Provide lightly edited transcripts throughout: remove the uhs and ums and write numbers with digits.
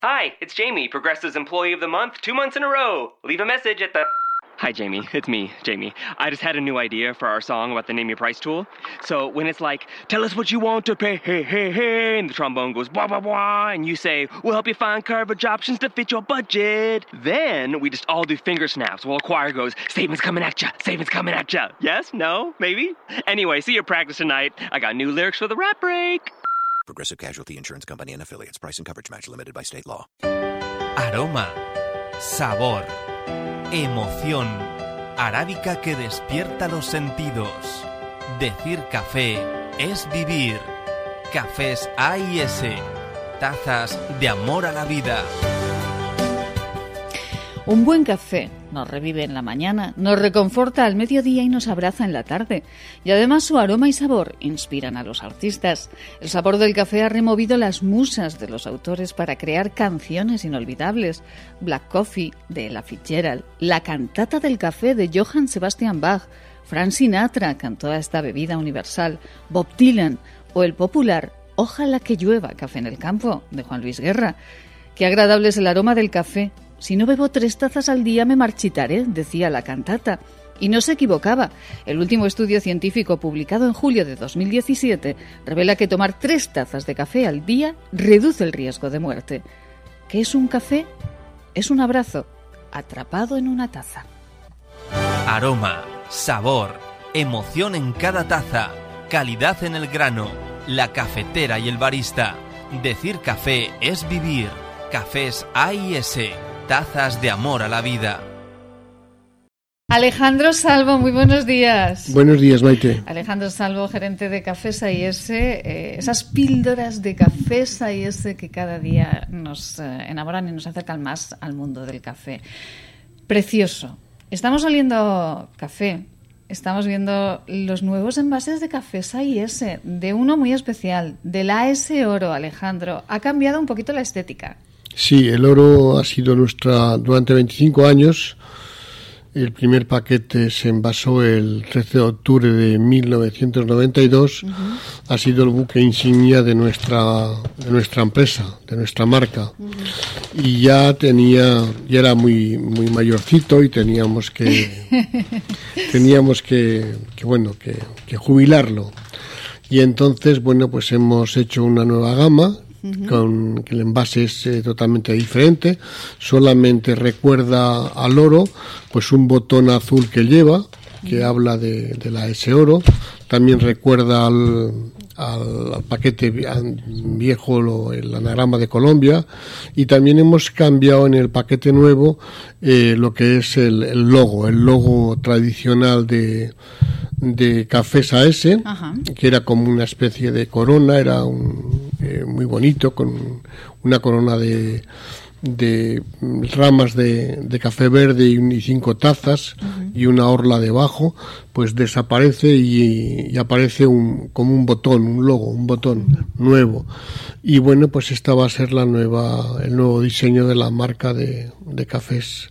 Hi, it's Jamie, Progressive's Employee of the Month, 2 months in a row. Leave a message at the... Hi, Jamie. It's me, Jamie. I just had a new idea for our song about the Name Your Price tool. So when it's like, tell us what you want to pay, hey, hey, hey, and the trombone goes, blah, blah, blah, and you say, we'll help you find coverage options to fit your budget. Then we just all do finger snaps while a choir goes, statements coming at ya, statements coming at ya. Yes? No? Maybe? Anyway, see your practice tonight. I got new lyrics for the rap break. Progressive Casualty Insurance Company and Affiliates. Price and coverage match limited by state law. Aroma, sabor, emoción, arábica que despierta los sentidos. Decir café es vivir. Cafés A&S, tazas de amor a la vida. Un buen café nos revive en la mañana, nos reconforta al mediodía y nos abraza en la tarde. Y además su aroma y sabor inspiran a los artistas. El sabor del café ha removido las musas de los autores para crear canciones inolvidables. Black Coffee, de Ella Fitzgerald, La cantata del café, de Johann Sebastian Bach, Frank Sinatra cantó a esta bebida universal, Bob Dylan, o el popular Ojalá que llueva café en el campo, de Juan Luis Guerra. Qué agradable es el aroma del café. Si no bebo 3 tazas al día me marchitaré, decía la cantata. Y no se equivocaba. El último estudio científico publicado en julio de 2017 revela que tomar 3 tazas de café al día reduce el riesgo de muerte. ¿Qué es un café? Es un abrazo atrapado en una taza. Aroma, sabor, emoción en cada taza, calidad en el grano, la cafetera y el barista. Decir café es vivir. Cafés A&S, tazas de amor a la vida. Alejandro Salvo, muy buenos días. Buenos días, Maite. Alejandro Salvo, gerente de Cafés A&S, esas píldoras de Cafés A&S que cada día nos enamoran y nos acercan más al mundo del café. Precioso. Estamos oliendo café, estamos viendo los nuevos envases de Cafés A&S, de uno muy especial, del AS Oro, Alejandro. Ha cambiado un poquito la estética. Sí, el oro ha sido durante 25 años. El primer paquete se envasó el 13 de octubre de 1992. Uh-huh. Ha sido el buque insignia de nuestra empresa, de nuestra marca. Uh-huh. Y ya era muy mayorcito y teníamos que jubilarlo. Y entonces, pues hemos hecho una nueva gama. Uh-huh. Con que el envase es totalmente diferente, solamente recuerda al oro, pues un botón azul que lleva, que uh-huh. habla de la S Oro, también recuerda al paquete viejo el anagrama de Colombia, y también hemos cambiado en el paquete nuevo lo que es el logo tradicional de Cafés A&S, uh-huh. que era como una especie de corona, era muy bonito, con una corona de ramas de café verde y 5 tazas uh-huh. y una orla debajo, pues desaparece y aparece como un botón, un logo, un botón uh-huh. nuevo. Y bueno, pues esta va a ser el nuevo diseño de la marca de cafés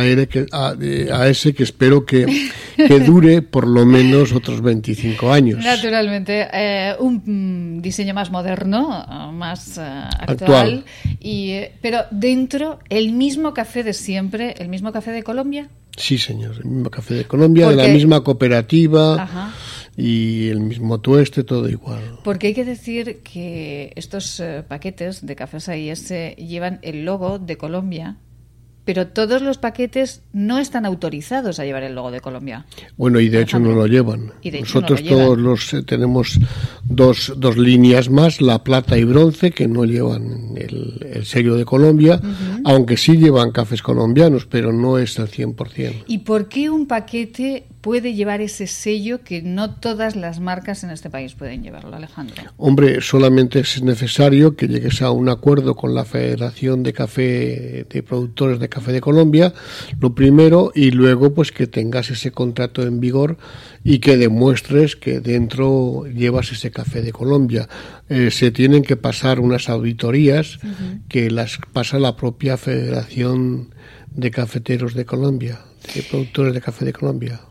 A&S, que espero que dure por lo menos otros 25 años. Naturalmente, un diseño más moderno, más actual. Pero dentro, el mismo café de siempre, el mismo café de Colombia. Sí, señor, el mismo café de Colombia, de la misma cooperativa. Ajá. Y el mismo tueste, todo igual. Porque hay que decir que estos paquetes de Cafés A&S llevan el logo de Colombia, pero todos los paquetes no están autorizados a llevar el logo de Colombia. Bueno, y de hecho no lo llevan. Nosotros todos tenemos dos líneas más, la plata y bronce, que no llevan el sello de Colombia, uh-huh. aunque sí llevan cafés colombianos, pero no es al 100%. ¿Y por qué un paquete puede llevar ese sello que no todas las marcas en este país pueden llevarlo, Alejandro? Hombre, solamente es necesario que llegues a un acuerdo con la Federación de Productores de Café de Colombia, lo primero, y luego pues que tengas ese contrato en vigor y que demuestres que dentro llevas ese café de Colombia. Se tienen que pasar unas auditorías uh-huh. que las pasa la propia Federación de Cafeteros de Colombia, de Productores de Café de Colombia. Ay,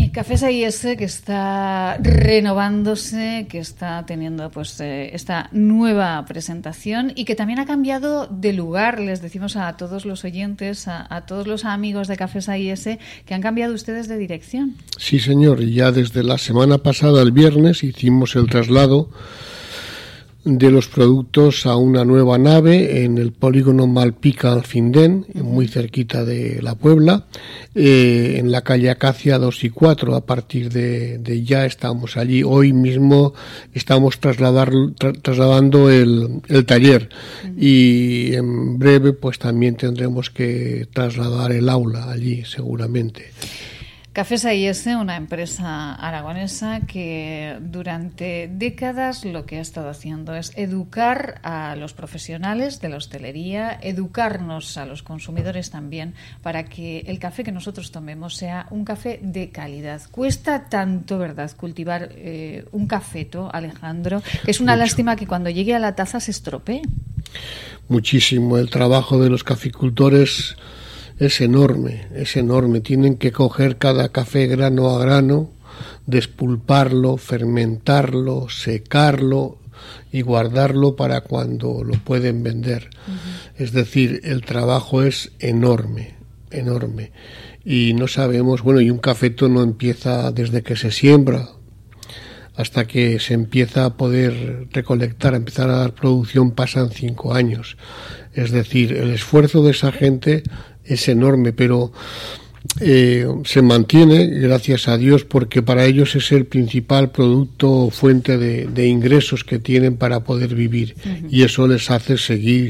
Cafés AIS, que está renovándose, que está teniendo pues esta nueva presentación y que también ha cambiado de lugar. Les decimos a todos los oyentes, a todos los amigos de Cafés AIS, que han cambiado ustedes de dirección. Sí, señor, y ya desde la semana pasada, el viernes, hicimos el traslado de los productos a una nueva nave en el polígono Malpica-Alfindén, muy cerquita de La Puebla, en la calle Acacia 2 y 4. A partir de ya estamos allí. Hoy mismo estamos trasladando el taller y en breve pues también tendremos que trasladar el aula allí seguramente. Cafés AIS, una empresa aragonesa que durante décadas lo que ha estado haciendo es educar a los profesionales de la hostelería, educarnos a los consumidores también, para que el café que nosotros tomemos sea un café de calidad. Cuesta tanto, ¿verdad?, cultivar un cafeto, Alejandro, que es una lástima que cuando llegue a la taza se estropee. Muchísimo. El trabajo de los caficultores es enorme, es enorme. Tienen que coger cada café grano a grano, despulparlo, fermentarlo, secarlo y guardarlo para cuando lo pueden vender. Es decir, el trabajo es enorme, enorme. Y no sabemos, bueno, y un cafeto no empieza desde que se siembra hasta que se empieza a poder recolectar, a empezar a dar producción, pasan 5 años. Es decir, el esfuerzo de esa gente es enorme, pero se mantiene, gracias a Dios, porque para ellos es el principal producto, fuente de ingresos que tienen para poder vivir. Y eso les hace seguir.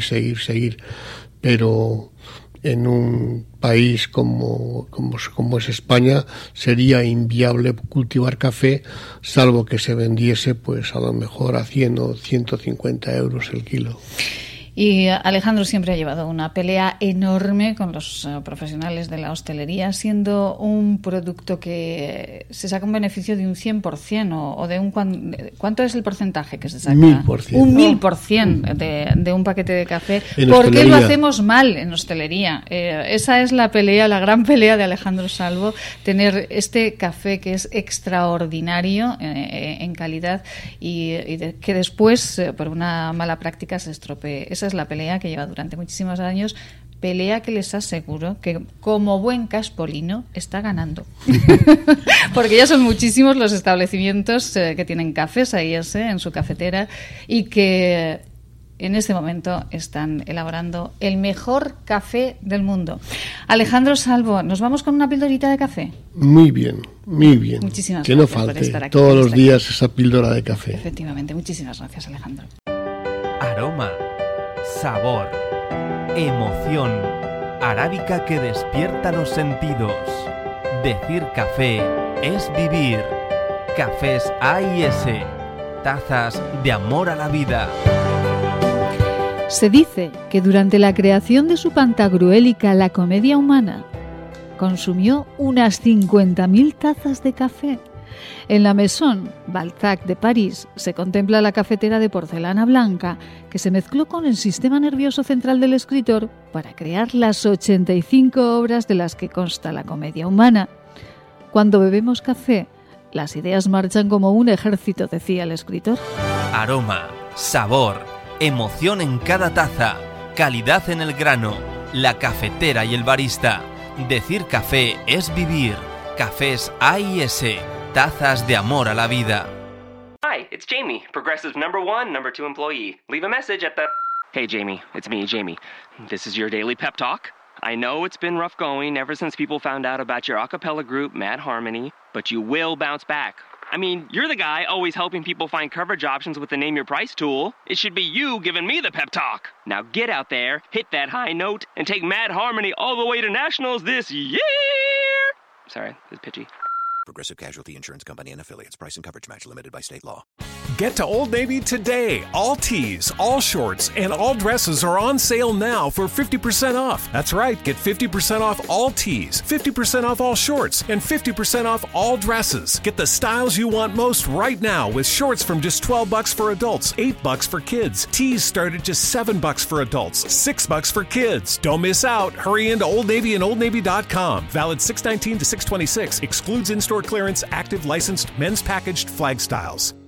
Pero en un país como es España sería inviable cultivar café, salvo que se vendiese pues a lo mejor a 100 o 150 euros el kilo. Y Alejandro siempre ha llevado una pelea enorme con los profesionales de la hostelería, siendo un producto que se saca un beneficio de un 100% o de un... ¿Cuánto es el porcentaje que se saca? 1000%. Un 1000% de un paquete de café. En ¿Por hostelería. qué lo hacemos mal en hostelería? Esa es la pelea, la gran pelea de Alejandro Salvo, tener este café que es extraordinario en calidad y que después, por una mala práctica, se estropee. Esa es la pelea que lleva durante muchísimos años, pelea que les aseguro que como buen caspolino está ganando. Porque ya son muchísimos los establecimientos que tienen cafés AIS en su cafetera y que en este momento están elaborando el mejor café del mundo. Alejandro Salvo, ¿nos vamos con una pildorita de café? Muy bien, muy bien. Muchísimas que no gracias por falte estar aquí, todos por los estar días esa píldora de café. Efectivamente, muchísimas gracias, Alejandro. Aroma, sabor, emoción, arábica que despierta los sentidos. Decir café es vivir. Cafés AIS, tazas de amor a la vida. Se dice que durante la creación de su pantagruélica La Comedia Humana consumió unas 50.000 tazas de café. En la Maison Balzac de París se contempla la cafetera de porcelana blanca que se mezcló con el sistema nervioso central del escritor para crear las 85 obras de las que consta La Comedia Humana. Cuando bebemos café, las ideas marchan como un ejército, decía el escritor. Aroma, sabor, emoción en cada taza, calidad en el grano, la cafetera y el barista. Decir café es vivir. Cafés AIS, tazas de amor a la vida. Hi, it's Jamie, Progressive's number 2 employee. Leave a message at the... Hey, Jamie, it's me, Jamie. This is your daily pep talk. I know it's been rough going ever since people found out about your a cappella group, Mad Harmony, but you will bounce back. I mean, you're the guy always helping people find coverage options with the Name Your Price tool. It should be you giving me the pep talk. Now get out there, hit that high note, and take Mad Harmony all the way to nationals this year! Sorry, it's pitchy. Progressive Casualty Insurance Company and Affiliates. Price and coverage match limited by state law. Get to Old Navy today. All tees, all shorts, and all dresses are on sale now for 50% off. That's right. Get 50% off all tees, 50% off all shorts, and 50% off all dresses. Get the styles you want most right now with shorts from just $12 for adults, $8 for kids. Tees start at just $7 for adults, $6 for kids. Don't miss out. Hurry into Old Navy and OldNavy.com. Valid 6/19 to 6/26. Excludes in-store store clearance active licensed men's packaged flag styles.